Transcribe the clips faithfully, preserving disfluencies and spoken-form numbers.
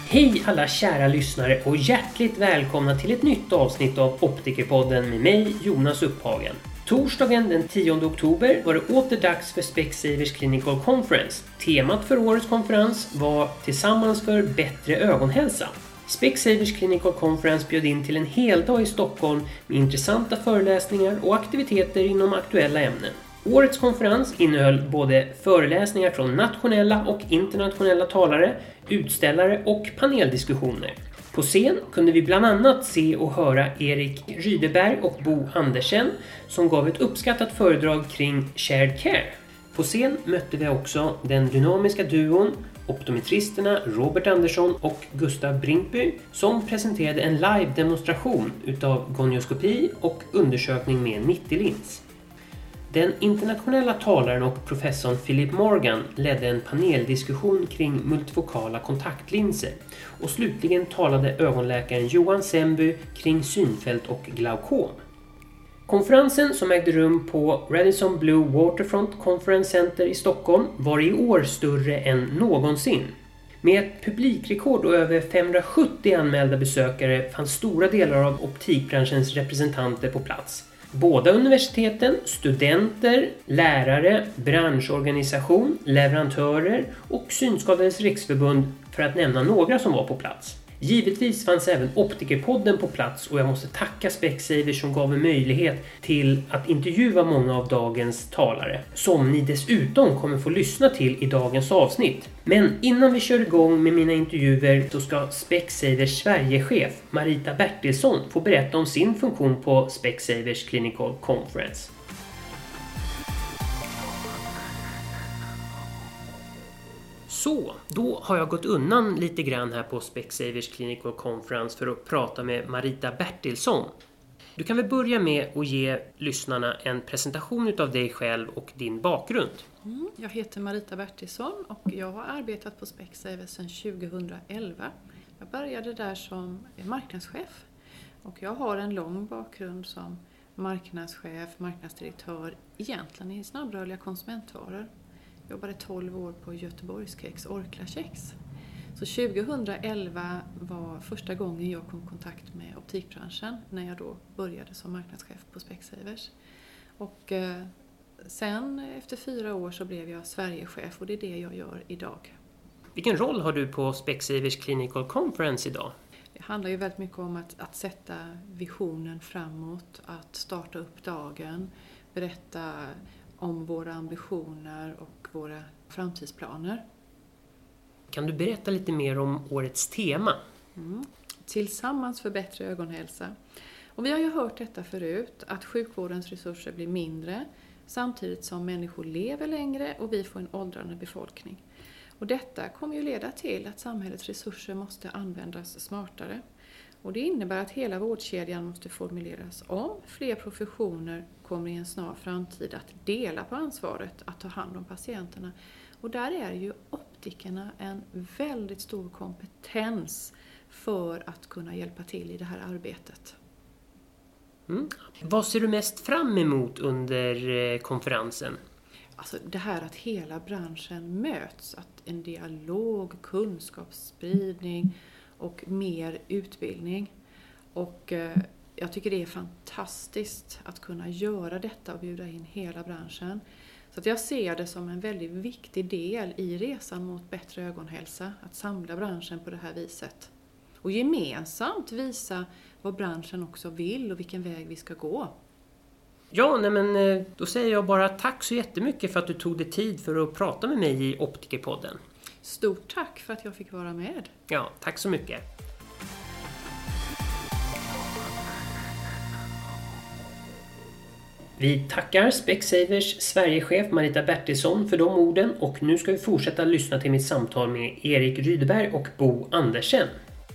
Hej alla kära lyssnare och hjärtligt välkomna till ett nytt avsnitt av Optikerpodden med mig Jonas Upphagen. Torsdagen den tionde oktober var det åter dags för Specsavers Clinical Conference. Temat för årets konferens var Tillsammans för bättre ögonhälsa. Specsavers Clinical Conference bjöd in till en hel dag i Stockholm med intressanta föreläsningar och aktiviteter inom aktuella ämnen. Årets konferens innehöll både föreläsningar från nationella och internationella talare, utställare och paneldiskussioner. På scen kunde vi bland annat se och höra Erik Rydeberg och Bo Andersen som gav ett uppskattat föredrag kring shared care. På scen mötte vi också den dynamiska duon optometristerna Robert Andersson och Gustav Brinkby som presenterade en live-demonstration utav gonioskopi och undersökning med nittio-lins. Den internationella talaren och professorn Philip Morgan ledde en paneldiskussion kring multifokala kontaktlinser och slutligen talade ögonläkaren Johan Semby kring synfält och glaukom. Konferensen som ägde rum på Radisson Blu Waterfront Conference Center i Stockholm var i år större än någonsin. Med ett publikrekord och över femhundrasjuttio anmälda besökare fanns stora delar av optikbranschens representanter på plats. Båda universiteten, studenter, lärare, branschorganisation, leverantörer och Synskadades riksförbund för att nämna några som var på plats. Givetvis fanns även Optikerpodden på plats och jag måste tacka Specsavers som gav en möjlighet till att intervjua många av dagens talare som ni dessutom kommer få lyssna till i dagens avsnitt. Men innan vi kör igång med mina intervjuer så ska Specsavers Sverigechef Marita Bertilsson få berätta om sin funktion på Specsavers Clinical Conference. Så, då har jag gått undan lite grann här på Specsavers Clinical Conference för att prata med Marita Bertilsson. Du kan väl börja med att ge lyssnarna en presentation av dig själv och din bakgrund. Mm, jag heter Marita Bertilsson och jag har arbetat på Specsavers sedan tjugohundraelva. Jag började där som marknadschef och jag har en lång bakgrund som marknadschef, marknadsdirektör, egentligen i snabbrörliga konsumentvaror. Jag jobbade tolv år på Göteborgskex, Orklakex. Så tjugohundraelva var första gången jag kom i kontakt med optikbranschen när jag då började som marknadschef på Specsavers. Och eh, sen efter fyra år så blev jag Sverigechef och det är det jag gör idag. Vilken roll har du på Specsavers Clinical Conference idag? Det handlar ju väldigt mycket om att, att sätta visionen framåt, att starta upp dagen, berätta om våra ambitioner och våra framtidsplaner. Kan du berätta lite mer om årets tema? Mm. Tillsammans för bättre ögonhälsa. Och vi har ju hört detta förut, att sjukvårdens resurser blir mindre samtidigt som människor lever längre och vi får en åldrande befolkning. Och detta kommer ju leda till att samhällets resurser måste användas smartare. Och det innebär att hela vårdkedjan måste formuleras om. Fler professioner kommer i en snar framtid att dela på ansvaret att ta hand om patienterna. Och där är ju optikerna en väldigt stor kompetens för att kunna hjälpa till i det här arbetet. Mm. Vad ser du mest fram emot under konferensen? Alltså det här att hela branschen möts, att en dialog, kunskapsspridning och mer utbildning. Och eh, jag tycker det är fantastiskt att kunna göra detta och bjuda in hela branschen. Så att jag ser det som en väldigt viktig del i resan mot bättre ögonhälsa, att samla branschen på det här viset. Och gemensamt visa vad branschen också vill och vilken väg vi ska gå. Ja, nej men då säger jag bara tack så jättemycket för att du tog dig tid för att prata med mig i Optikerpodden. Stort tack för att jag fick vara med. Ja, tack så mycket. Vi tackar Specsavers Sverigechef Marita Bertilsson för de orden och nu ska vi fortsätta lyssna till mitt samtal med Erik Rydeberg och Bo Andersen.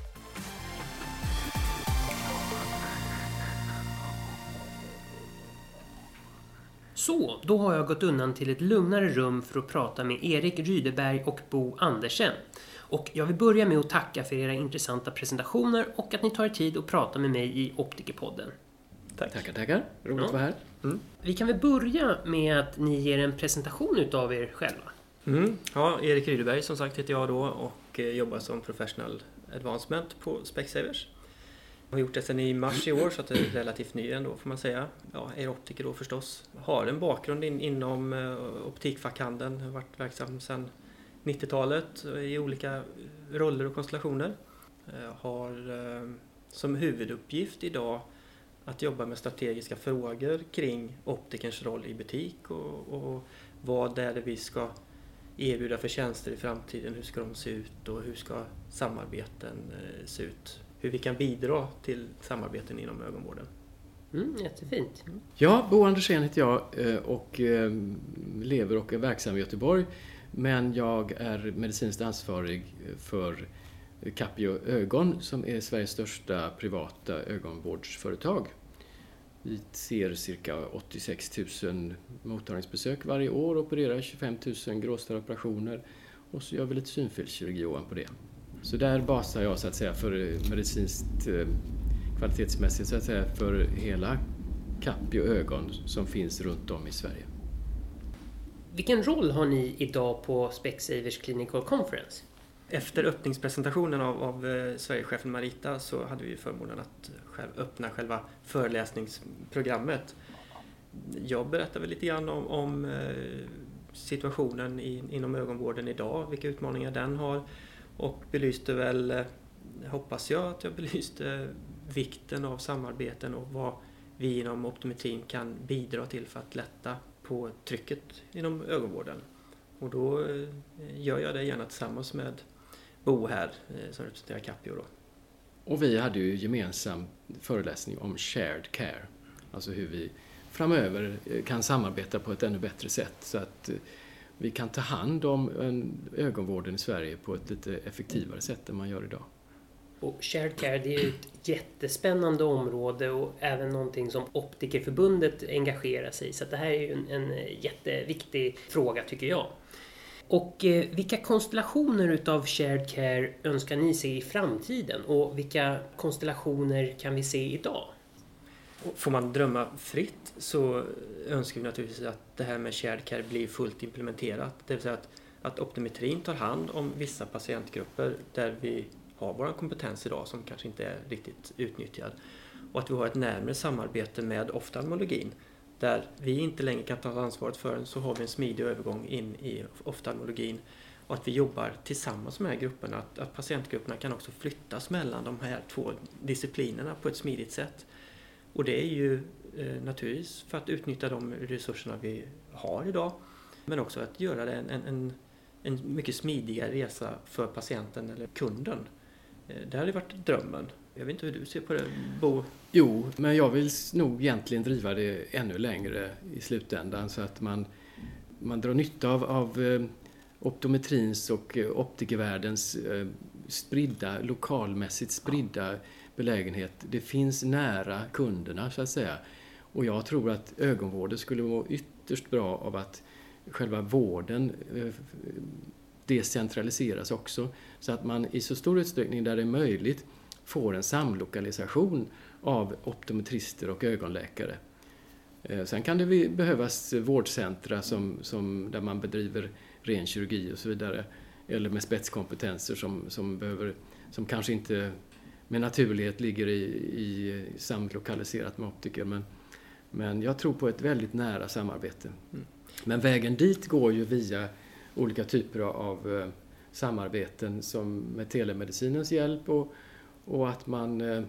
Så, då har jag gått undan till ett lugnare rum för att prata med Erik Rydeberg och Bo Andersen. Och jag vill börja med att tacka för era intressanta presentationer och att ni tar er tid att prata med mig i Optikerpodden. Tack. Tackar, tackar. Roligt ja. att vara här. Mm. Vi kan väl börja med att ni ger en presentation utav er själva. Mm. Ja, Erik Rydeberg som sagt heter jag då och och jobbar som professional advancement på Specsavers. Jag har gjort det sedan i mars i år, så att det är relativt ny ändå får man säga. Ja, är optiker då förstås. Har en bakgrund in, inom uh, optikfackhandeln. Har varit verksam sedan nittiotalet i olika roller och konstellationer. Uh, har uh, som huvuduppgift idag att jobba med strategiska frågor kring optikerns roll i butik och, och vad är det vi ska erbjuda för tjänster i framtiden, hur ska de se ut och hur ska samarbeten uh, se ut. Hur vi kan bidra till samarbeten inom ögonvården. Mm, jättefint. Mm. Ja, Bo Andersén heter jag och lever och är verksam i Göteborg. Men jag är medicinskt ansvarig för Capio Ögon som är Sveriges största privata ögonvårdsföretag. Vi ser cirka åttiosex tusen mottagningsbesök varje år, opererar tjugofem tusen gråstarroperationer och så gör vi lite synfelskirurgi på det. Så där basar jag så att säga för medicinskt kvalitetsmässigt så att säga för hela Capio Ögon som finns runt om i Sverige. Vilken roll har ni idag på Specsavers Clinical Conference? Efter öppningspresentationen av, av Sverigechefen Marita så hade vi förmånen att själv öppna själva föreläsningsprogrammet. Jag berättade väl lite grann om, om situationen i, inom ögonvården idag, vilka utmaningar den har. Och belyste väl, hoppas jag att jag belyste vikten av samarbeten och vad vi inom optometrin kan bidra till för att lätta på trycket inom ögonvården. Och då gör jag det gärna tillsammans med Bo här som representerar Capio då. Och vi hade ju gemensam föreläsning om shared care. Alltså hur vi framöver kan samarbeta på ett ännu bättre sätt så att vi kan ta hand om ögonvården i Sverige på ett lite effektivare sätt än man gör idag. Och shared care, det är ju ett jättespännande område och även någonting som Optikerförbundet engagerar sig i. Så det här är ju en, en jätteviktig fråga tycker jag. Och eh, vilka konstellationer utav shared care önskar ni se i framtiden? Och vilka konstellationer kan vi se idag? Får man drömma fritt så önskar vi naturligtvis att det här med shared care blir fullt implementerat. Det vill säga att, att optometrin tar hand om vissa patientgrupper där vi har vår kompetens idag som kanske inte är riktigt utnyttjad. Och att vi har ett närmare samarbete med oftalmologin där vi inte längre kan ta ansvaret för den, så har vi en smidig övergång in i oftalmologin. Och att vi jobbar tillsammans med de här grupperna, att, att patientgrupperna kan också flyttas mellan de här två disciplinerna på ett smidigt sätt. Och det är ju eh, naturligtvis för att utnyttja de resurserna vi har idag. Men också att göra det en, en, en mycket smidigare resa för patienten eller kunden. Eh, det hade varit drömmen. Jag vet inte hur du ser på det, Bo? Jo, men jag vill nog egentligen driva det ännu längre i slutändan så att man, man drar nytta av, av eh, optometrins och eh, optikervärldens eh, spridda, lokalmässigt spridda belägenhet. Det finns nära kunderna så att säga. Och jag tror att ögonvården skulle vara ytterst bra av att själva vården eh, decentraliseras också. Så att man i så stor utsträckning där det är möjligt får en samlokalisation av optometrister och ögonläkare. Eh, sen kan det behövas vårdcentra som, som, där man bedriver ren kirurgi och så vidare. Eller med spetskompetenser som, som, behöver, som kanske inte med naturlighet ligger i, i samlokaliserat med optiker. Men, men jag tror på ett väldigt nära samarbete. Mm. Men vägen dit går ju via olika typer av eh, samarbeten som med telemedicinens hjälp och, och att man eh,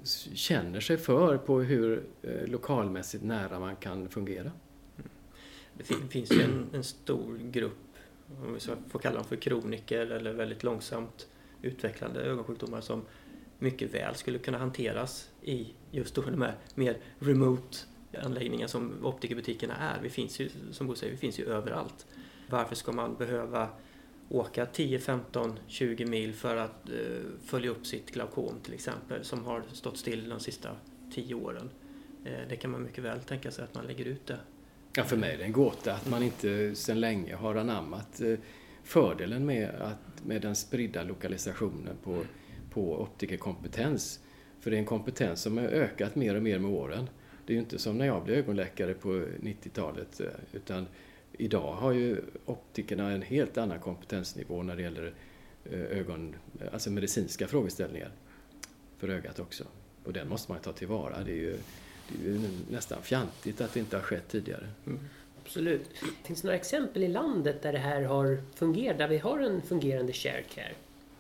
känner sig för på hur eh, lokalmässigt nära man kan fungera. Mm. Det finns ju en, en stor grupp, om vi så får kalla dem för kroniker eller väldigt långsamt utvecklande ögonsjukdomar som mycket väl skulle kunna hanteras i just då de här mer remote anläggningar som optikerbutikerna är. Vi finns ju, som Bo säger, vi finns ju överallt. Varför ska man behöva åka tio, femton, tjugo mil för att eh, följa upp sitt glaukom till exempel som har stått still de sista tio åren? Eh, det kan man mycket väl tänka sig att man lägger ut det. Ja, för mig är det en gåta att man inte sedan länge har anammat eh, fördelen med, att, med den spridda lokalisationen på på optikerkompetens. För det är en kompetens som har ökat mer och mer med åren. Det är ju inte som när jag blev ögonläkare på nittiotalet, utan idag har ju optikerna en helt annan kompetensnivå när det gäller ögon, alltså medicinska frågeställningar för ögat också. Och den måste man ta tillvara. Det är ju, det är ju nästan fjantigt att det inte har skett tidigare. Mm. Absolut. Finns det några exempel i landet där det här har fungerat, där vi har en fungerande shared care?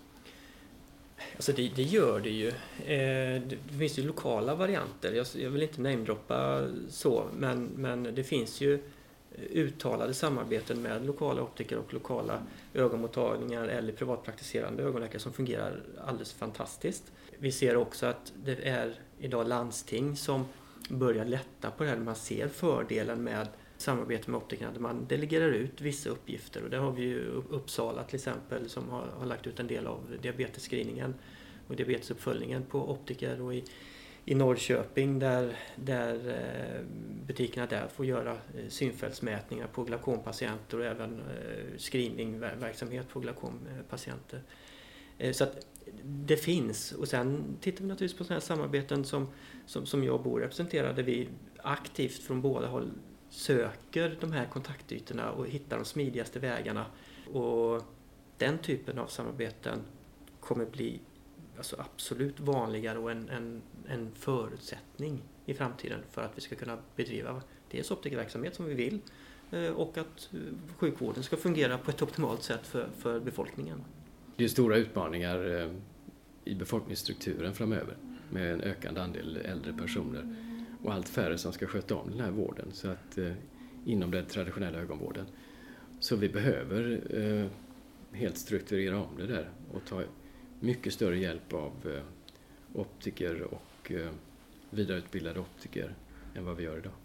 Alltså det, det gör det ju. Eh, det finns ju lokala varianter. Jag, jag vill inte namedroppa så, men, men det finns ju uttalade samarbeten med lokala optiker och lokala ögonmottagningar eller privatpraktiserande ögonläkare som fungerar alldeles fantastiskt. Vi ser också att det är idag landsting som börjar lätta på det här. Man ser fördelen med samarbete med optikerna där man delegerar ut vissa uppgifter. Och där har vi ju Uppsala till exempel som har, har lagt ut en del av diabetesscreeningen och diabetesuppföljningen på optiker, och i I Norrköping där, där butikerna där får göra synfältsmätningar på glaukompatienter och även screeningverksamhet på glaukompatienter. Så att det finns. Och sen tittar vi naturligtvis på sådana här samarbeten som, som, som jag bor representerar, där vi aktivt från båda håll söker de här kontaktytorna och hittar de smidigaste vägarna. Och den typen av samarbeten kommer bli alltså absolut vanligare och en, en, en förutsättning i framtiden för att vi ska kunna bedriva dels optikerverksamhet som vi vill och att sjukvården ska fungera på ett optimalt sätt för, för befolkningen. Det är stora utmaningar i befolkningsstrukturen framöver med en ökande andel äldre personer och allt färre som ska sköta om den här vården, så att eh, inom den traditionella ögonvården. Så vi behöver eh, helt strukturera om det där och ta mycket större hjälp av eh, optiker och eh, vidareutbildade optiker än vad vi gör idag.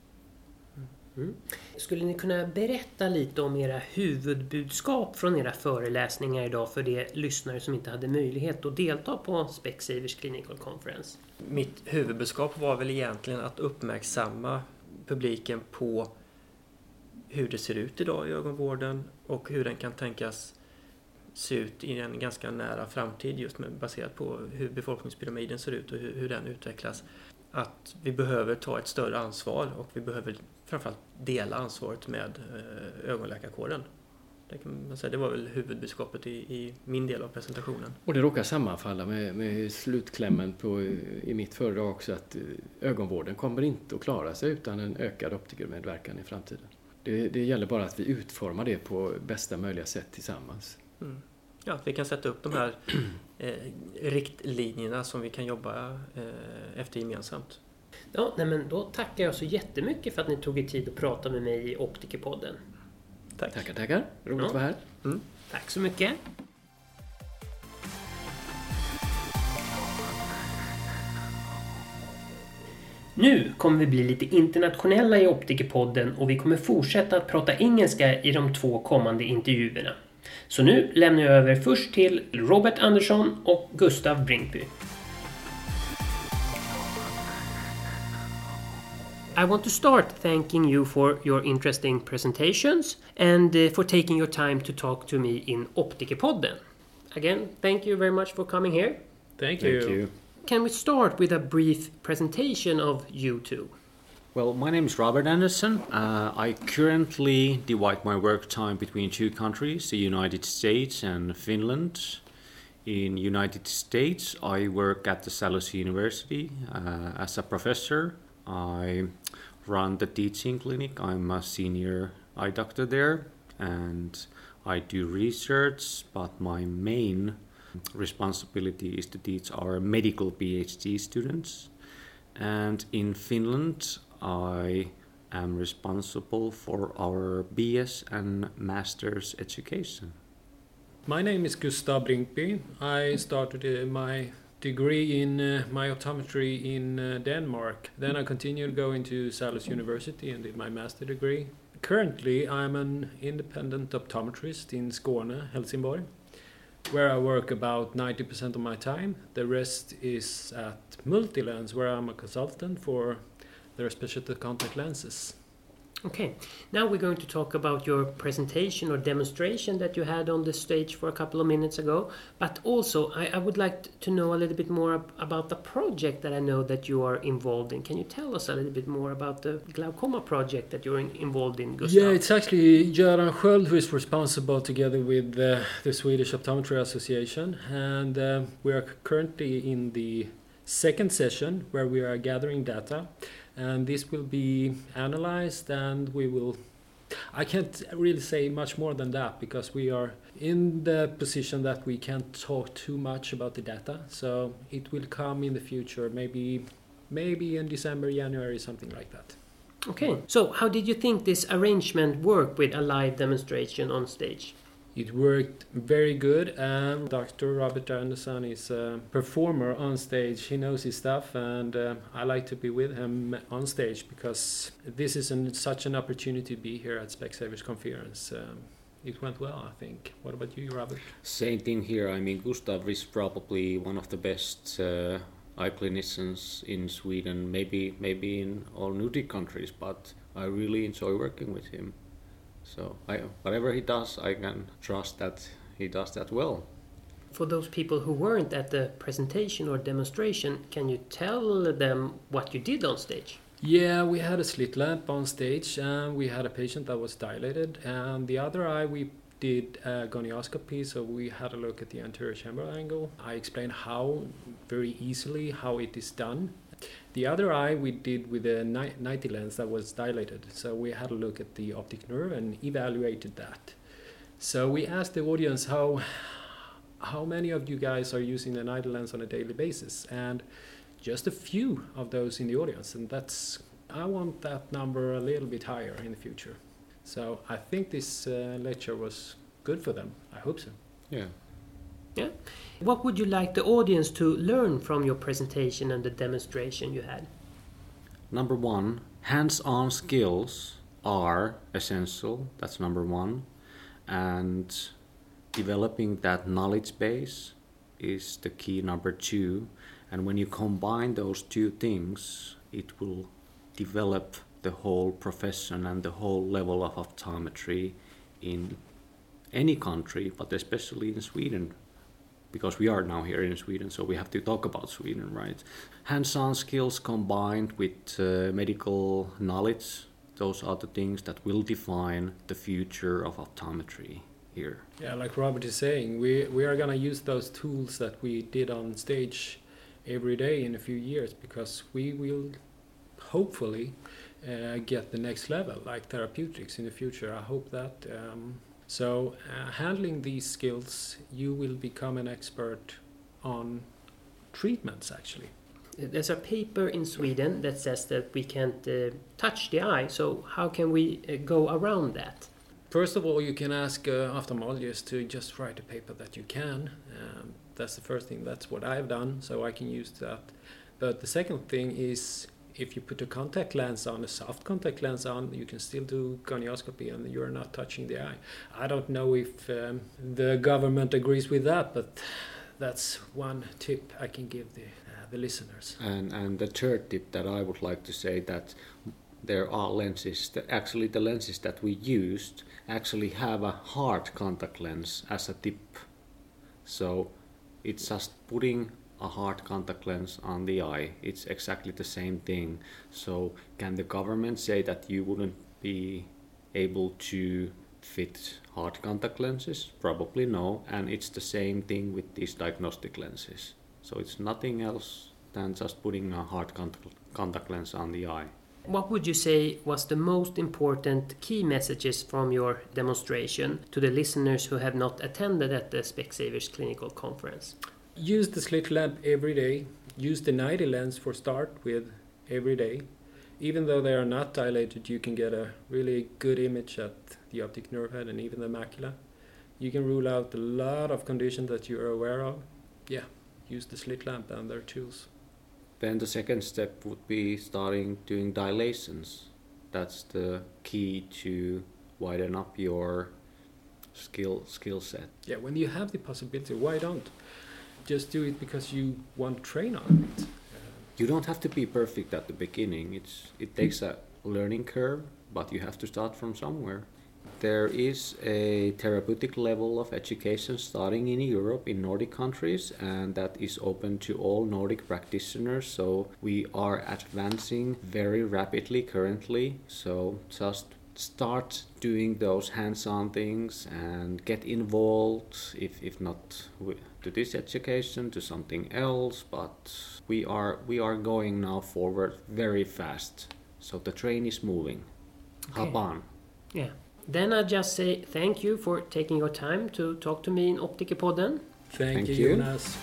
Mm. Skulle ni kunna berätta lite om era huvudbudskap från era föreläsningar idag för de lyssnare som inte hade möjlighet att delta på Specsavers Clinical Conference? Mitt huvudbudskap var väl egentligen att uppmärksamma publiken på hur det ser ut idag i ögonvården och hur den kan tänkas se ut i en ganska nära framtid, just med, baserat på hur befolkningspyramiden ser ut och hur, hur den utvecklas. Att vi behöver ta ett större ansvar och vi behöver framförallt dela ansvaret med ögonläkarkåren. Det, kan man säga, det var väl huvudbudskapet i, i min del av presentationen. Och det råkar sammanfalla med, med slutklämmen på, i mitt föredrag också, att ögonvården kommer inte att klara sig utan en ökad optikermedverkan i framtiden. Det, det gäller bara att vi utformar det på bästa möjliga sätt tillsammans. Mm. Ja, vi kan sätta upp de här eh, riktlinjerna som vi kan jobba eh, efter gemensamt. Ja, nej men då tackar jag så jättemycket för att ni tog er tid att prata med mig i Optikerpodden. Tack. Tackar, tackar. Roligt ja. att vara här. Mm. Tack så mycket. Nu kommer vi bli lite internationella i Optikerpodden och vi kommer fortsätta att prata engelska i de två kommande intervjuerna. Så nu lämnar jag över först till Robert Andersson och Gustav Brinkby. I want to start thanking you for your interesting presentations and uh, for taking your time to talk to me in Optikerpodden. Again, thank you very much for coming here. Thank you. Thank you. Can we start with a brief presentation of you two? Well, my name is Robert Anderson. Uh, I currently divide my work time between two countries, the United States and Finland. In United States, I work at the Salus University uh, as a professor. I run the teaching clinic. I'm a senior eye doctor there, and I do research, but my main responsibility is to teach our medical PhD students. And in Finland, I am responsible for our B S and Master's education. My name is Gustav Brinkby. I started uh, my degree in uh, myoptometry in uh, Denmark. Then I continued going to Salus University and did my master degree. Currently, I'm an independent optometrist in Skåne, Helsingborg, where I work about ninety percent of my time. The rest is at Multilens, where I'm a consultant for their specialty contact lenses. Okay, now we're going to talk about your presentation or demonstration that you had on the stage for a couple of minutes ago. But also, I, I would like to know a little bit more ab- about the project that I know that you are involved in. Can you tell us a little bit more about the glaucoma project that you're in, involved in, Gustav? Yeah, it's actually Göran Sköld who is responsible together with uh, the Swedish Optometry Association. And uh, we are currently in the second session where we are gathering data. And this will be analyzed, and we will... I can't really say much more than that because we are in the position that we can't talk too much about the data. So it will come in the future, maybe maybe in December, January, something like that. Okay, so how did you think this arrangement worked with a live demonstration on stage? It worked very good. Um, Doctor Robert Anderson is a performer on stage. He knows his stuff, and uh, I like to be with him on stage because this is an, such an opportunity to be here at Specsavers Conference. Um, it went well, I think. What about you, Robert? Same thing here. I mean, Gustav is probably one of the best uh, eye clinicians in Sweden, maybe maybe in all Nordic countries, but I really enjoy working with him. So I, whatever he does, I can trust that he does that well. For those people who weren't at the presentation or demonstration, can you tell them what you did on stage? Yeah, we had a slit lamp on stage, and we had a patient that was dilated, and the other eye we did a gonioscopy, so we had a look at the anterior chamber angle. I explained how, very easily, how it is done. The other eye we did with a ninety lens that was dilated, so we had a look at the optic nerve and evaluated that. So we asked the audience how how many of you guys are using the ninety lens on a daily basis, and just a few of those in the audience, and that's I want that number a little bit higher in the future. So I think this uh, lecture was good for them. I hope so. Yeah. Yeah. What would you like the audience to learn from your presentation and the demonstration you had? Number one, hands-on skills are essential. That's number one. And developing that knowledge base is the key, number two. And when you combine those two things, it will develop the whole profession and the whole level of optometry in any country, but especially in Sweden. Because we are now here in Sweden, so we have to talk about Sweden, right? Hands-on skills combined with uh, medical knowledge, those are the things that will define the future of optometry here. Yeah, like Robert is saying, we, we are going to use those tools that we did on stage every day in a few years, because we will hopefully uh, get the next level, like therapeutics in the future. I hope that... Um, So uh, handling these skills, you will become an expert on treatments, actually. There's a paper in Sweden that says that we can't uh, touch the eye, so how can we uh, go around that? First of all, you can ask uh, ophthalmologists to just write a paper that you can. Um, that's the first thing. That's what I've done, so I can use that. But the second thing is, if you put a contact lens on, a soft contact lens on, you can still do gonioscopy and you're not touching the eye. I don't know if um, the government agrees with that, but that's one tip I can give the, uh, the listeners. And, and the third tip that I would like to say, that there are lenses, that actually the lenses that we used actually have a hard contact lens as a tip. So it's just putting a hard contact lens on the eye. It's exactly the same thing. So can the government say that you wouldn't be able to fit hard contact lenses? Probably no. And it's the same thing with these diagnostic lenses. So it's nothing else than just putting a hard contact, contact lens on the eye. What would you say was the most important key messages from your demonstration to the listeners who have not attended at the Specsavers Clinical Conference? Use the slit lamp every day. Use the ninety lens for start with every day. Even though they are not dilated, you can get a really good image at the optic nerve head and even the macula. You can rule out a lot of conditions that you are aware of. Yeah, use the slit lamp and their tools. Then the second step would be starting doing dilations. That's the key to widen up your skill skill set. Yeah, when you have the possibility, why don't? Just do it because you want to train on it. You don't have to be perfect at the beginning. It's it takes a learning curve, but you have to start from somewhere. There is a therapeutic level of education starting in Europe, in Nordic countries, and that is open to all Nordic practitioners. So we are advancing very rapidly currently. So just start doing those hands-on things and get involved, if, if not to this education, to something else. But we are we are going now forward very fast. So the train is moving. Okay. Hop on. Yeah. Then I just say thank you for taking your time to talk to me in Optikerpodden. Thank, Thank you, you. Jonas.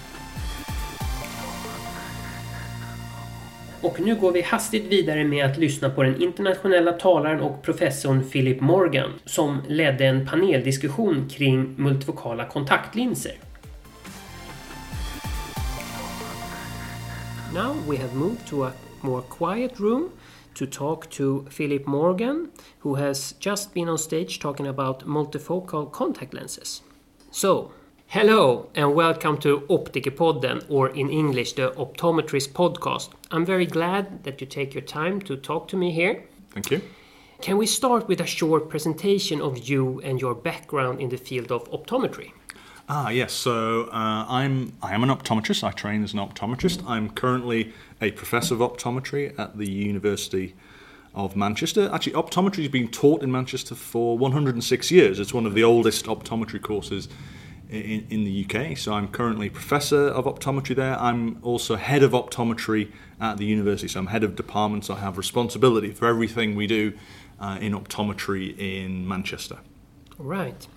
Och nu går vi hastigt vidare med att lyssna på den internationella talaren och professorn Philip Morgan som ledde en paneldiskussion kring multifokala kontaktlinser. Now we have moved to a more quiet room to talk to Philip Morgan, who has just been on stage talking about multifocal contact lenses. So, hello and welcome to Optikerpodden, or in English, the Optometrist podcast. I'm very glad that you take your time to talk to me here. Thank you. Can we start with a short presentation of you and your background in the field of optometry? Ah, yes. So uh, I'm I am an optometrist. I train as an optometrist. I'm currently a professor of optometry at the University of Manchester. Actually, optometry has been taught in Manchester for one hundred six years. It's one of the oldest optometry courses in, in the U K. So I'm currently professor of optometry there. I'm also head of optometry at the university. So I'm head of department. So I have responsibility for everything we do uh, in optometry in Manchester. Right.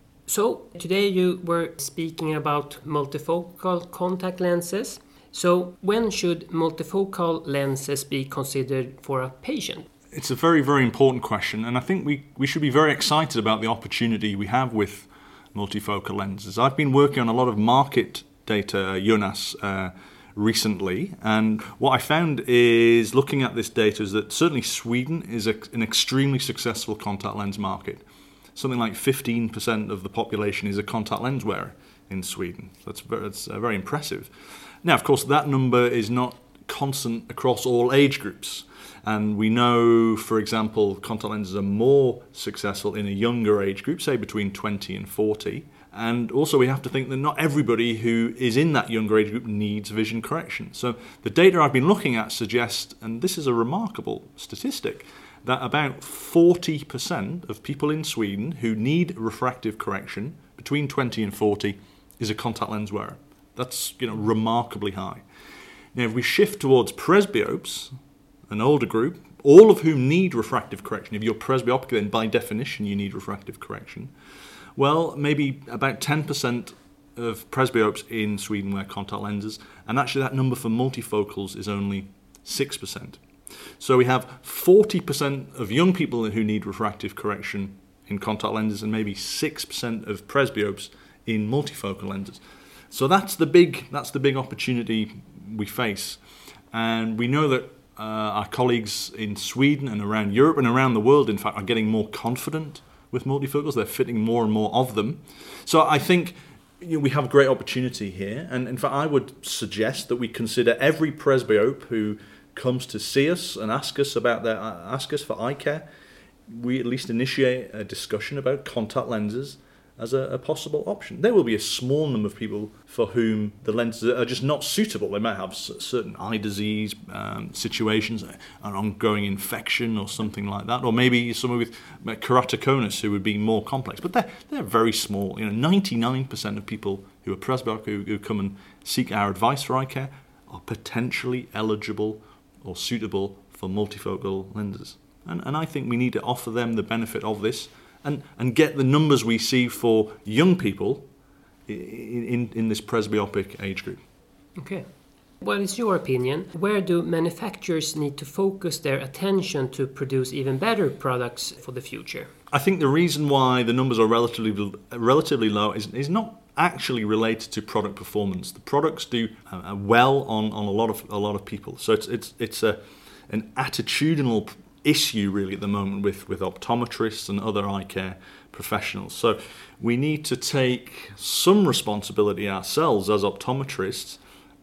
So today you were speaking about multifocal contact lenses. So when should multifocal lenses be considered for a patient? It's a very, very important question, and I think we, we should be very excited about the opportunity we have with multifocal lenses. I've been working on a lot of market data, Jonas, uh, recently, and what I found is, looking at this data, is that certainly Sweden is a, an extremely successful contact lens market. Something like fifteen percent of the population is a contact lens wearer in Sweden. That's very, that's uh, very impressive. Now, of course, that number is not constant across all age groups. And we know, for example, contact lenses are more successful in a younger age group, say between twenty and forty. And also we have to think that not everybody who is in that younger age group needs vision correction. So the data I've been looking at suggests, and this is a remarkable statistic, that about forty percent of people in Sweden who need refractive correction between twenty and forty is a contact lens wearer. That's, you know, remarkably high. Now, if we shift towards presbyopes, an older group, all of whom need refractive correction, if you're presbyopic, then by definition you need refractive correction, well, maybe about ten percent of presbyopes in Sweden wear contact lenses, and actually that number for multifocals is only six percent. So we have forty percent of young people who need refractive correction in contact lenses and maybe six percent of presbyopes in multifocal lenses. So that's the big that's the big opportunity we face. And we know that uh, our colleagues in Sweden and around Europe and around the world, in fact, are getting more confident with multifocals. They're fitting more and more of them. So I think, you know, we have a great opportunity here. And in fact, I would suggest that we consider every presbyope who comes to see us and ask us about their uh, ask us for eye care, we at least initiate a discussion about contact lenses as a, a possible option. There will be a small number of people for whom the lenses are just not suitable. They might have certain eye disease um, situations, an ongoing infection or something like that, or maybe someone with keratoconus who would be more complex. But they're, they're very small. You know, ninety-nine percent of people who are presbyopic who, who come and seek our advice for eye care are potentially eligible or suitable for multifocal lenses. And, and I think we need to offer them the benefit of this and, and get the numbers we see for young people in, in, in this presbyopic age group. Okay. What is your opinion? Where do manufacturers need to focus their attention to produce even better products for the future? I think the reason why the numbers are relatively relatively low is, is not actually related to product performance. The products do uh, well on, on a lot of a lot of people. So it's it's it's a an attitudinal issue really at the moment with, with optometrists and other eye care professionals. So we need to take some responsibility ourselves as optometrists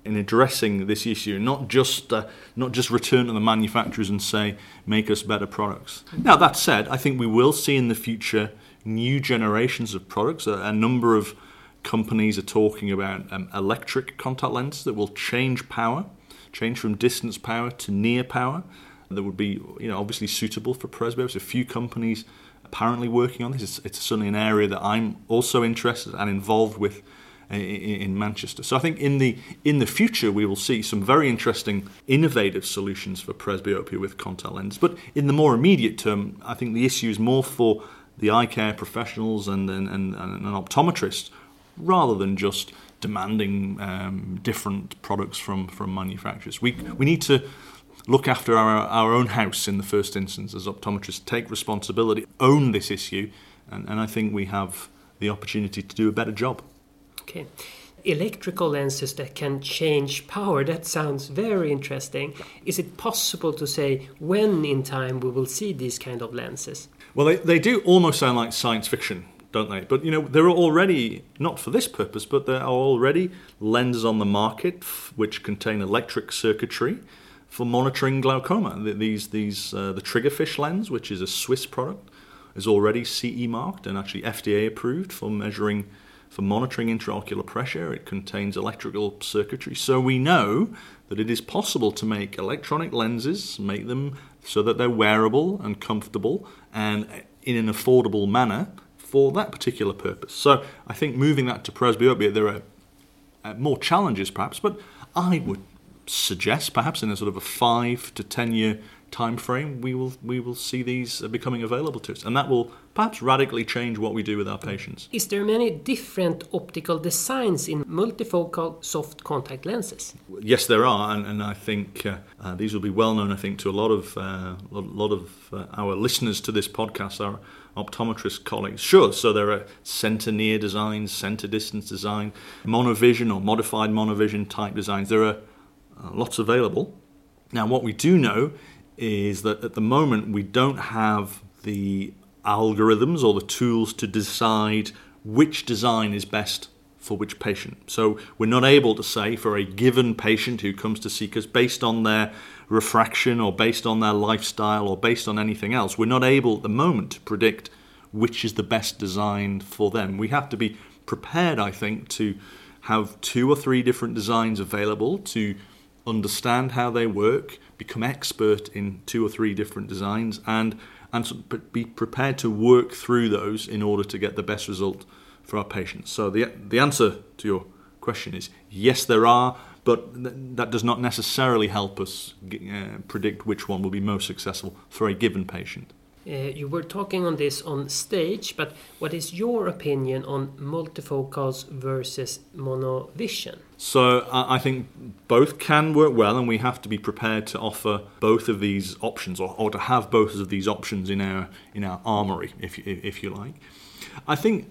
in addressing this issue, not just uh, not just return to the manufacturers and say, make us better products. Now, that said, I think we will see in the future new generations of products. A, a number of companies are talking about um, electric contact lenses that will change power, change from distance power to near power, that would be, you know, obviously suitable for presbyopes. A few companies apparently working on this. It's, it's certainly an area that I'm also interested and involved with in, in Manchester. So I think in the in the future we will see some very interesting, innovative solutions for presbyopia with contact lenses. But in the more immediate term, I think the issue is more for the eye care professionals and and, and, and an optometrist, rather than just demanding um, different products from, from manufacturers. We we need to look after our, our own house in the first instance as optometrists, take responsibility, own this issue, and, and I think we have the opportunity to do a better job. Okay. Electrical lenses that can change power, that sounds very interesting. Is it possible to say when in time we will see these kind of lenses? Well, they, they do almost sound like science fiction, don't they? But, you know, there are already, not for this purpose, but there are already lenses on the market f- which contain electric circuitry for monitoring glaucoma. These, these, uh, the Triggerfish lens, which is a Swiss product, is already C E marked and actually F D A approved for measuring, for monitoring intraocular pressure. It contains electrical circuitry. So we know that it is possible to make electronic lenses, make them so that they're wearable and comfortable and in an affordable manner for that particular purpose. So I think moving that to presbyopia, there are uh, more challenges perhaps, but I would suggest perhaps in a sort of a five to ten year time frame we will we will see these becoming available to us, and that will perhaps radically change what we do with our patients. Is there many different optical designs in multifocal soft contact lenses? Yes, there are, and, and I think uh, uh, these will be well known, I think, to a lot of uh, a lot of uh, our listeners to this podcast, our optometrist colleagues. Sure, so there are center near designs, center distance design, monovision or modified monovision type designs. There are uh, lots available. Now, what we do know is that at the moment we don't have the algorithms or the tools to decide which design is best for which patient. So we're not able to say for a given patient who comes to seek us, based on their refraction or based on their lifestyle or based on anything else, we're not able at the moment to predict which is the best design for them. We have to be prepared, I think, to have two or three different designs available, to understand how they work, become expert in two or three different designs, and and be prepared to work through those in order to get the best result for our patients. So the the answer to your question is yes, there are, but th- that does not necessarily help us uh, predict which one will be most successful for a given patient. Uh, you were talking on this on stage, but what is your opinion on multifocals versus monovision? So uh, I think both can work well, and we have to be prepared to offer both of these options, or, or to have both of these options in our in our armory, if you, if you like. I think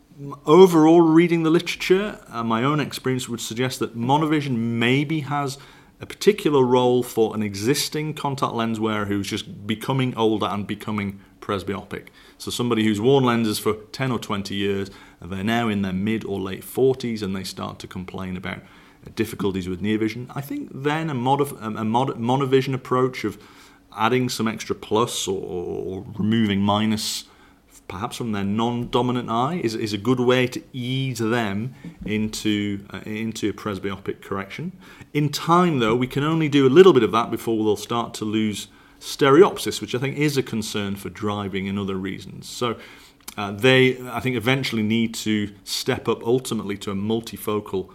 overall, reading the literature, uh, my own experience would suggest that monovision maybe has a particular role for an existing contact lens wearer who's just becoming older and becoming presbyopic. So somebody who's worn lenses for ten or twenty years, and they're now in their mid or late forties, and they start to complain about difficulties with near vision. I think then a, modif- a mod- monovision approach of adding some extra plus or, or removing minus perhaps from their non-dominant eye is, is a good way to ease them into uh, into presbyopic correction. In time, though, we can only do a little bit of that before we'll start to lose stereopsis, which I think is a concern for driving and other reasons. So uh, they, I think, eventually need to step up ultimately to a multifocal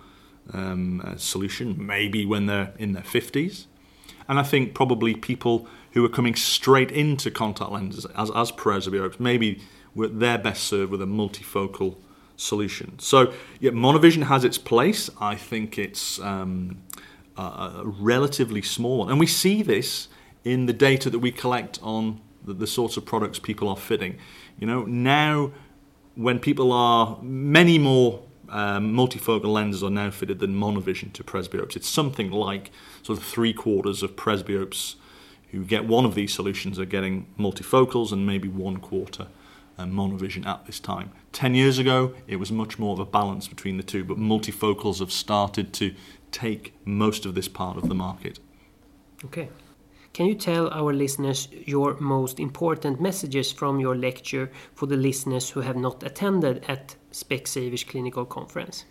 um, uh, solution, maybe when they're in their fifties. And I think probably people who are coming straight into contact lenses as, as presbyopes, maybe they're best served with a multifocal solution. So yeah, monovision has its place. I think it's um, a, a relatively small one. And we see this in the data that we collect on the, the sorts of products people are fitting. You know, now when people are, many more um, multifocal lenses are now fitted than monovision to presbyopes. It's something like sort of three quarters of presbyopes who get one of these solutions are getting multifocals, and maybe one quarter and monovision at this time. Ten years ago, it was much more of a balance between the two, but multifocals have started to take most of this part of the market. Okay. Can you tell our listeners your most important messages from your lecture for the listeners who have not attended at Specsavers Clinical Conference?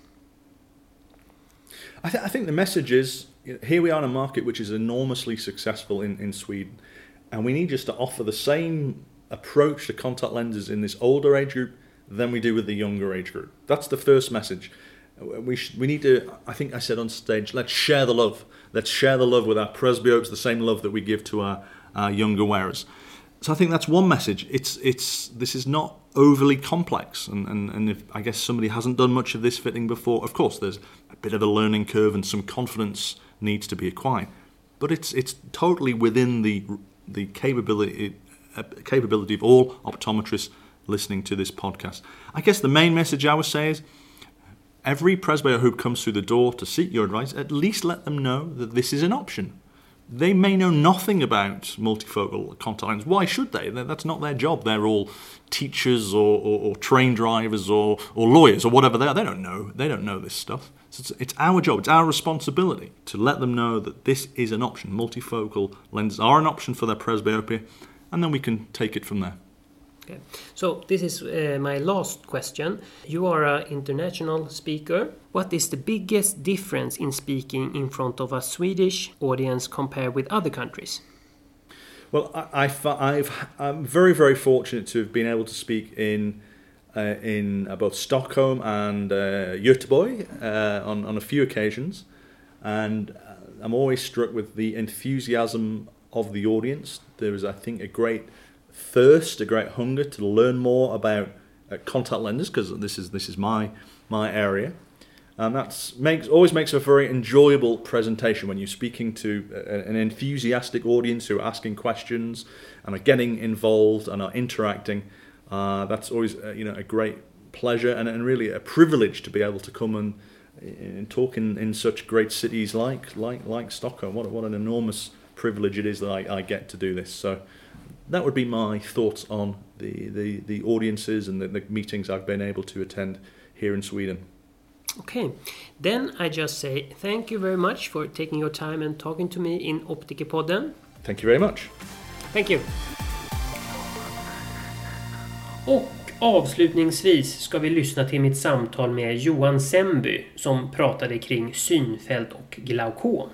I, th- I think the message is, here we are in a market which is enormously successful in, in Sweden, and we need just to offer the same approach to contact lenses in this older age group than we do with the younger age group. That's the first message. We sh- we need to, I think I said on stage, let's share the love. Let's share the love with our presbyopes, the same love that we give to our, our younger wearers. So I think that's one message. It's it's this is not overly complex, and, and, and if I guess somebody hasn't done much of this fitting before, of course there's a bit of a learning curve and some confidence needs to be acquired. But it's it's totally within the the capability uh, capability of all optometrists listening to this podcast. I guess the main message I would say is, every presbyope who comes through the door to seek your advice, at least let them know that this is an option. They may know nothing about multifocal contact lenses. Why should they? That's not their job. They're all teachers or, or, or train drivers or, or lawyers or whatever they are. They don't know. They don't know this stuff. So it's, it's our job. It's our responsibility to let them know that this is an option. Multifocal lenses are an option for their presbyopia, and then we can take it from there. Okay. So this is uh, my last question. You are an international speaker. What is the biggest difference in speaking in front of a Swedish audience compared with other countries? Well, I, I, I've, I'm very, very fortunate to have been able to speak in uh, in uh, both Stockholm and uh, Göteborg uh, on, on a few occasions. And uh, I'm always struck with the enthusiasm of the audience. There is, I think, a great thirst, a great hunger to learn more about uh, contact lenses, because this is this is my my area, and that's makes always makes a very enjoyable presentation when you're speaking to a, an enthusiastic audience who are asking questions and are getting involved and are interacting. Uh, that's always uh, you know a great pleasure and, and really a privilege to be able to come and, and talk in, in such great cities like like like Stockholm. What what an enormous privilege it is that I, I get to do this. So that would be my thoughts on the, the, the audiences and the, the meetings I've been able to attend here in Sweden. Okay, then I just say thank you very much for taking your time and talking to me in Optikerpodden. Thank you very much. Thank you. Och avslutningsvis ska vi lyssna till mitt samtal med Johan Semby som pratade kring synfält och glaukom.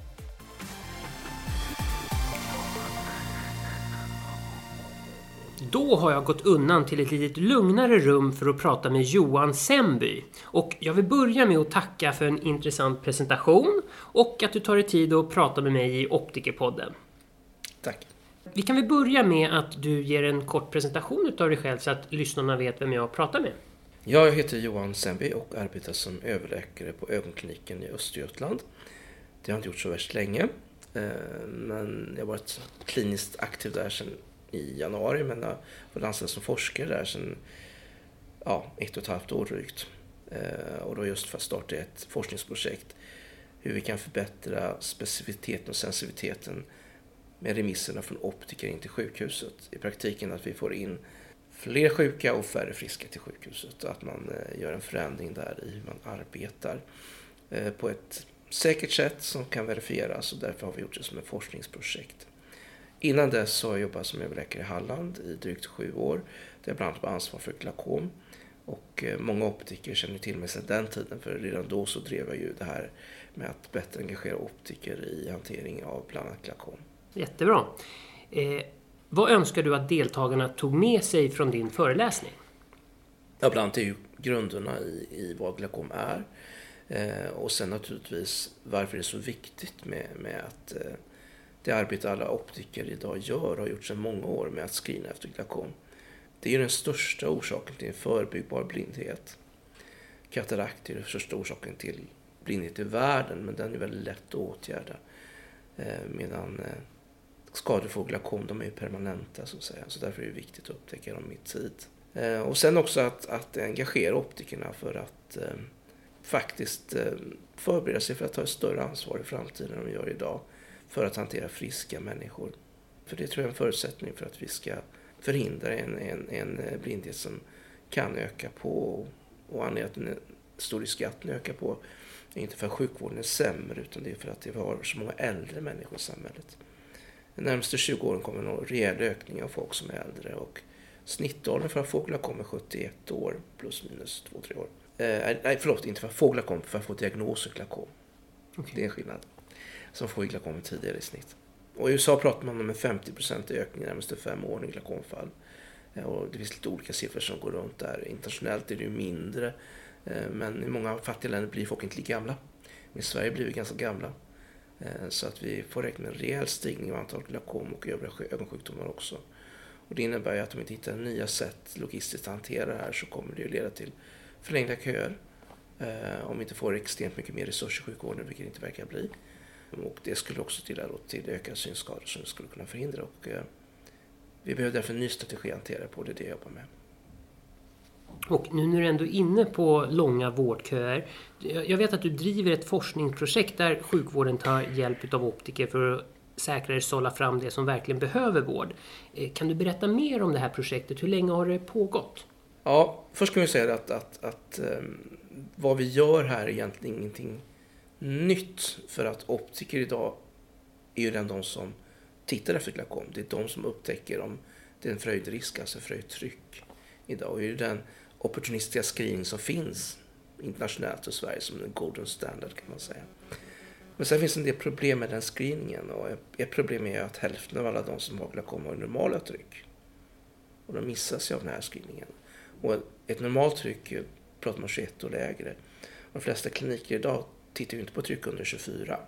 Då har jag gått undan till ett lite lugnare rum för att prata med Johan Semby. Och jag vill börja med att tacka för en intressant presentation och att du tar dig tid att prata med mig i Optikerpodden. Tack. Vi kan väl börja med att du ger en kort presentation av dig själv så att lyssnarna vet vem jag pratar med. Jag heter Johan Semby och arbetar som överläkare på ögonkliniken i Östergötland. Det har jag inte gjort så värst länge, men jag har varit kliniskt aktiv där sedan i januari, men jag var anställd som forskare där sedan ja, ett och ett halvt år drygt. Och då just för att starta ett forskningsprojekt hur vi kan förbättra specificiteten och sensitiviteten med remisserna från optiker in till sjukhuset. I praktiken att vi får in fler sjuka och färre friska till sjukhuset och att man gör en förändring där i hur man arbetar på ett säkert sätt som kan verifieras, och därför har vi gjort det som ett forskningsprojekt. Innan dess har jag jobbat som överläkare i Halland i drygt sju år. Där jag bland annat var ansvar för glaukom. Och många optiker känner till mig sedan den tiden. För redan då så drev jag ju det här med att bättre engagera optiker i hantering av bland annat glaukom. Jättebra. Eh, vad önskar du att deltagarna tog med sig från din föreläsning? Ja, bland annat är ju grunderna i, i vad glaukom är. Eh, och sen naturligtvis varför det är så viktigt med, med att... Eh, Det arbete alla optiker idag gör och har gjort sedan många år med att screena efter glaukom. Det är den största orsaken till en förbyggbar blindhet. Katarakt är den största orsaken till blindhet i världen, men den är väldigt lätt att åtgärda. Medan skador för glaukom, de är permanenta så att säga. Så därför är det viktigt att upptäcka dem i tid. Och sen också att, att engagera optikerna för att eh, faktiskt eh, förbereda sig för att ta ett större ansvar i framtiden än de gör idag. För att hantera friska människor. För det tror jag är en förutsättning för att vi ska förhindra en, en, en blindhet som kan öka på. Och anledningen till en stor risk att den ökar på Det är inte för att sjukvården är sämre, utan det är för att vi har så många äldre människor i samhället. De närmaste tjugo åren kommer en rejäl ökning av folk som är äldre, och snittåldern för att fåglar kommer sjuttioett år plus minus två tre år. Eh, nej, förlåt, inte för att fåglar kommer, för att få diagnos och glaukom. Okay. Det är en skillnad. Som får glaukom tidigare i snitt. Och i U S A pratar man om en femtio procent ökning de närmaste fem åren i glaukomfall. Eh, och det finns lite olika siffror som går runt där. Internationellt är det ju mindre, eh, men i många fattiga länder blir folk inte lika gamla. I Sverige blir vi ganska gamla. Eh, så att vi får räkna med en rejäl stigning av antalet glaukom och övriga ögonsjukdomar också. Och det innebär ju att om vi inte hittar nya sätt logistiskt att hantera det här, så kommer det ju leda till förlängda köer. Eh, om vi inte får extremt mycket mer resurser i sjukvården, vilket det inte verkar bli. Och det skulle också till, till ökade synskador som vi skulle kunna förhindra. Och, eh, vi behöver därför en ny strategi att hantera på, det är det jag jobbar med. Och nu när du ändå är inne på långa vårdköer. Jag vet att du driver ett forskningsprojekt där sjukvården tar hjälp av optiker för att säkrare sålla fram det som verkligen behöver vård. Kan du berätta mer om det här projektet? Hur länge har det pågått? Ja, först kan vi säga att, att, att um, vad vi gör här är egentligen ingenting nytt. För att optiker idag är ju den de som tittar efter glaukom. Det är de som upptäcker om det är en fröjdrisk, alltså fröjdtryck idag. Och det är ju den opportunistiska screening som finns internationellt i Sverige som en golden standard, kan man säga. Men sen finns det en del problem med den screeningen, och ett problem är att hälften av alla de som har glaukom har normala tryck. Och de missas ju av den här screeningen. Och ett normalt tryck pratar man tjugoett och lägre. De flesta kliniker idag tittar ju inte på tryck under tjugofyra.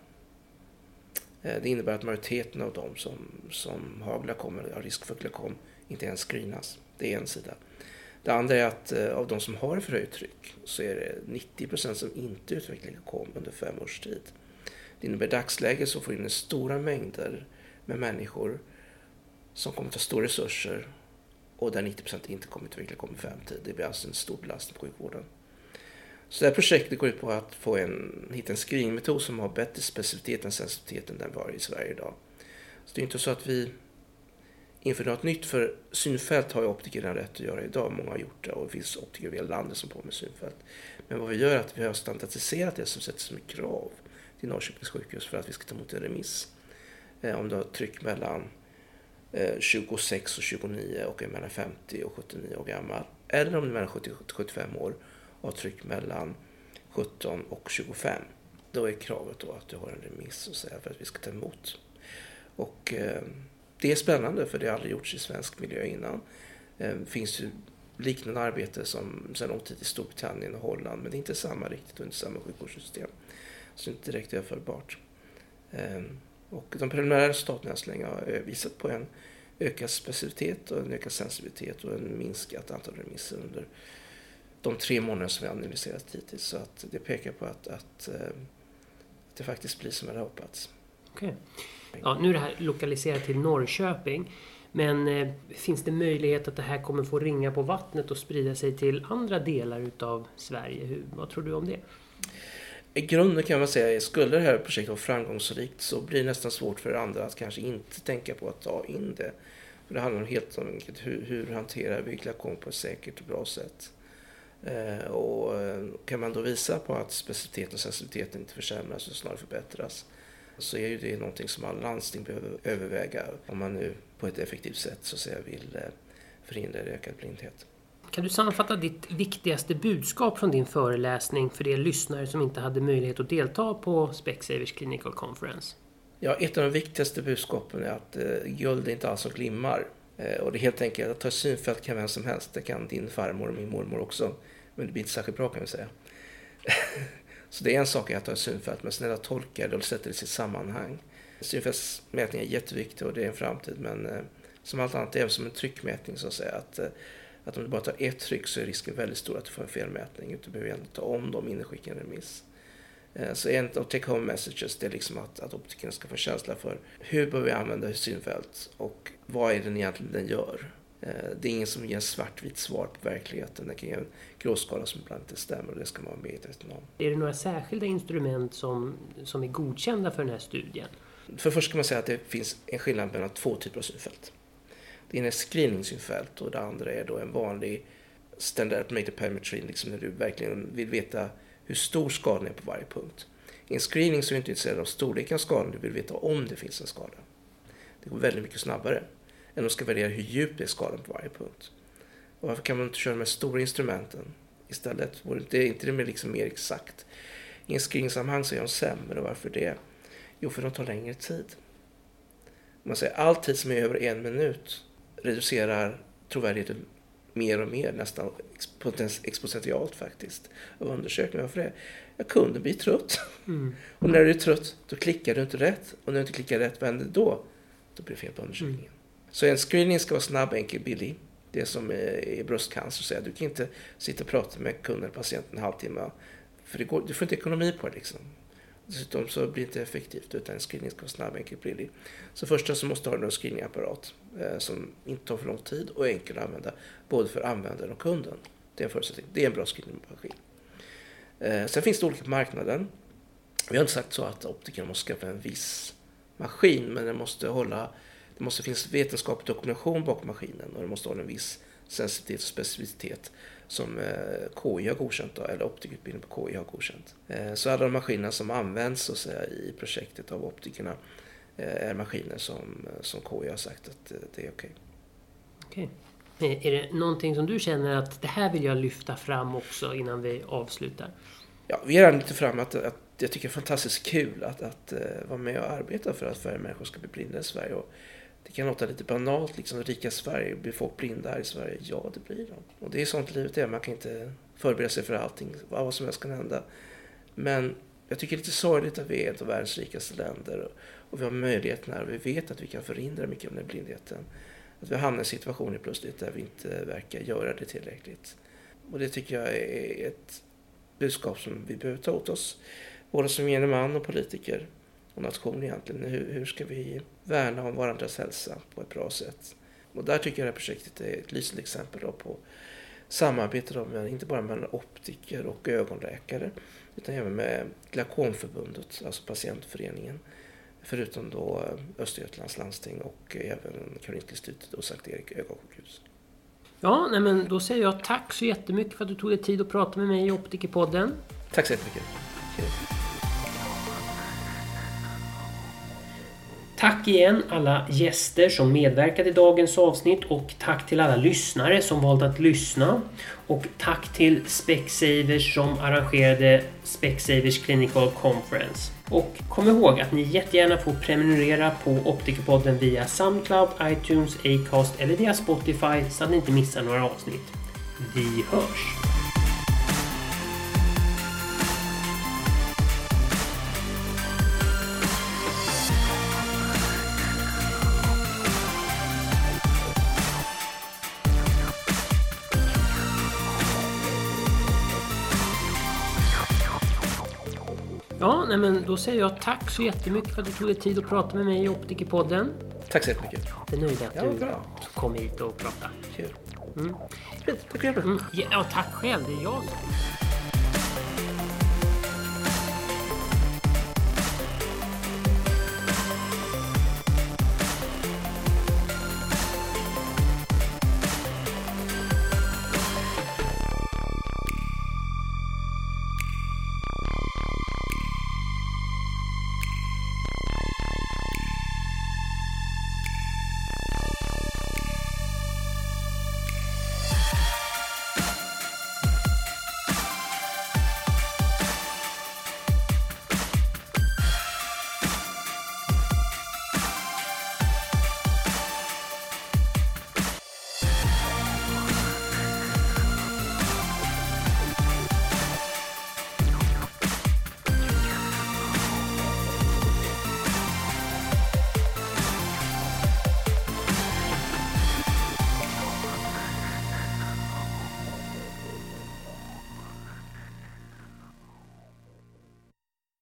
Det innebär att majoriteten av de som, som har glaukom eller har risk för glaukom inte ens screenas. Det är en sida. Det andra är att av de som har förhöjt tryck så är det nittio procent som inte utvecklar glaukom under fem års tid. Det innebär i dagsläget så får in stora mängder med människor som kommer ta stora resurser, och där nittio procent inte kommer utveckla glaukom i fem tid. Det blir alltså en stor belastning på sjukvården. Så det här projektet går ut på att få en, hitta en screeningmetod som har bättre specificitet än sensibilitet än den var i Sverige idag. Så det är inte så att vi inför något nytt, för synfält har ju optiker den rätt att göra idag. Många har gjort det, och det finns optiker i hela landet som på med synfält. Men vad vi gör är att vi har standardiserat det som sätter som ett krav till Norrköpings sjukhus för att vi ska ta emot en remiss. Eh, om du har tryck mellan eh, tjugosex och tjugonio och är mellan femtio och sjuttionio år gammal. Eller om du är mellan sjuttio och sjuttiofem år och har tryck mellan sjutton och tjugofem. Då är kravet då att du har en remiss och säga för att vi ska ta emot. Och eh, det är spännande, för det har aldrig gjorts i svensk miljö innan. Det finns ju liknande arbete som sedan lång tid i Storbritannien och Holland, men det är inte samma riktigt och inte samma sjukvårdssystem. Så det är inte direkt överförbart. Och de preliminära resultaten så länge har visat på en ökad specificitet och en ökad sensibilitet och en minskat antal remisser under de tre månader som vi har analyserat hittills. Så att det pekar på att, att, att det faktiskt blir som det har hoppats. Okej. Ja, nu är det här lokaliserat till Norrköping, men eh, finns det möjlighet att det här kommer få ringa på vattnet och sprida sig till andra delar utav Sverige? Hur, vad tror du om det? I grunden kan man säga att skulle det här projektet vara framgångsrikt så blir det nästan svårt för andra att kanske inte tänka på att ta in det. För det handlar helt om hur, hur hanterar vi glaukom på ett säkert och bra sätt. Eh, och kan man då visa på att specificiteten och sensibiliteten inte försämras och snarare förbättras, så är ju det någonting som alla landsting behöver överväga om man nu på ett effektivt sätt så att säga vill förhindra ökad blindhet. Kan du sammanfatta ditt viktigaste budskap från din föreläsning för de lyssnare som inte hade möjlighet att delta på Specsavers Clinical Conference? Ja, ett av de viktigaste budskapen är att eh, guld är inte alls som glimmar. Eh, och det är helt enkelt att ta synfält kan vem som helst. Det kan din farmor och min mormor också. Men det blir inte särskilt bra, kan vi säga. Så det är en sak att ta synfält, men sen är det att tolka det och sätta det i sitt sammanhang. Synfältsmätning är jätteviktig och det är en framtid, men eh, som allt annat är det som en tryckmätning, så att säga. Att, eh, att om du bara tar ett tryck så är risken väldigt stor att du får en felmätning. Du behöver ändå ta om dem innan du skickar en remiss. Eh, så en av take home messages det är liksom att, att optikerna ska få känsla för hur bör vi använda synfält och vad är det egentligen den gör. Det är ingen som ger en svartvitt svar på verkligheten. Det kan ge en gråskala som ibland inte stämmer, och det ska man vara medveten om. Är det några särskilda instrument som, som är godkända för den här studien? För först kan man säga att det finns en skillnad mellan två typer av synfält. Det ena är screening-synfält och det andra är då en vanlig standard parametry, liksom när du verkligen vill veta hur stor skadan är på varje punkt. I en screening så är du inte intresserad av storleken av skadan, du vill veta om det finns en skada. Det går väldigt mycket snabbare än att ska värdera hur djup är skadan på varje punkt. Och varför kan man inte köra med stora instrumenten istället? Det är inte det med liksom mer exakt. I en screeningsammanhang så är de sämre, och varför det? Jo, för de tar längre tid. Man säger all tid som är över en minut reducerar trovärdigheten mer och mer, nästan exponentiellt faktiskt, av undersökningar. Varför det? Jag kunde bli trött. Mm. Och när du är trött, då klickar du inte rätt. Och när du inte klickar rätt, vad händer då? Då blir det fel på undersökningen. Mm. Så en screening ska vara snabb, enkel, billig. Det som är bröstcancer, så du kan inte sitta och prata med kunden, patienten en halvtimme. För det går, du får inte ekonomi på det liksom. Dessutom så blir det inte effektivt, utan en screening ska vara snabb, enkel, billig. Så först så måste du ha en screeningapparat eh, som inte tar för lång tid och enkel att använda, både för användaren och kunden. Det är en förutsättning. Det är en bra screeningmaskin. Eh, sen finns det olika marknader. Vi har inte sagt så att optikerna måste skaffa en viss maskin, men det måste hålla, det måste finnas vetenskaplig dokumentation bakom maskinen, och det måste hålla en viss sensitivitet och specificitet som K I har godkänt då, eller optikutbildning på K I har godkänt. Så alla de maskiner som används så att säga, i projektet av optikerna är maskiner som, som K I har sagt att det är okej. Okej. Är det någonting som du känner att det här vill jag lyfta fram också innan vi avslutar? Ja, vi har redan lyft fram att, att jag tycker det är fantastiskt kul att, att uh, vara med och arbeta för att färre människor ska bli blinda i Sverige. Och det kan låta lite banalt, liksom rika Sverige, blir folk blinda här i Sverige? Ja, det blir de. Och det är sånt livet är, man kan inte förbereda sig för allting, vad som helst kan hända. Men jag tycker det är lite sorgligt att vi är ett av världens rikaste länder, och, och vi har möjligheten här, och vi vet att vi kan förhindra mycket av den här blindheten. Att vi hamnar i situationer plötsligt där vi inte verkar göra det tillräckligt. Och det tycker jag är ett budskap som vi behöver ta åt oss, både som gemene man och politiker och nation egentligen. Hur, hur ska vi värna om varandras hälsa på ett bra sätt? Och där tycker jag det här projektet är ett lysande exempel då på samarbete då med, inte bara mellan optiker och ögonläkare, utan även med Glaukomförbundet, alltså patientföreningen, förutom då Östergötlands landsting och även Karolinska institutet och Sankt Erik ögonsjukhus. Ja, nej men då säger jag tack så jättemycket för att du tog dig tid att prata med mig i Optikerpodden. Tack så jättemycket. Tack igen alla gäster som medverkade i dagens avsnitt, och tack till alla lyssnare som valt att lyssna, och tack till Specsavers som arrangerade Specsavers Clinical Conference. Och kom ihåg att ni jättegärna får prenumerera på Optikerpodden via Soundcloud, iTunes, Acast eller via Spotify så att ni inte missar några avsnitt. Vi hörs! Ja, nej men då säger jag tack så jättemycket för att du tog dig tid att prata med mig i Optikerpodden. Tack så jättemycket. Det är nöjd att ja, du bra. kom hit och pratade. Kul. Mm. Tack för det. Mm. Ja, tack själv. Det är jag som...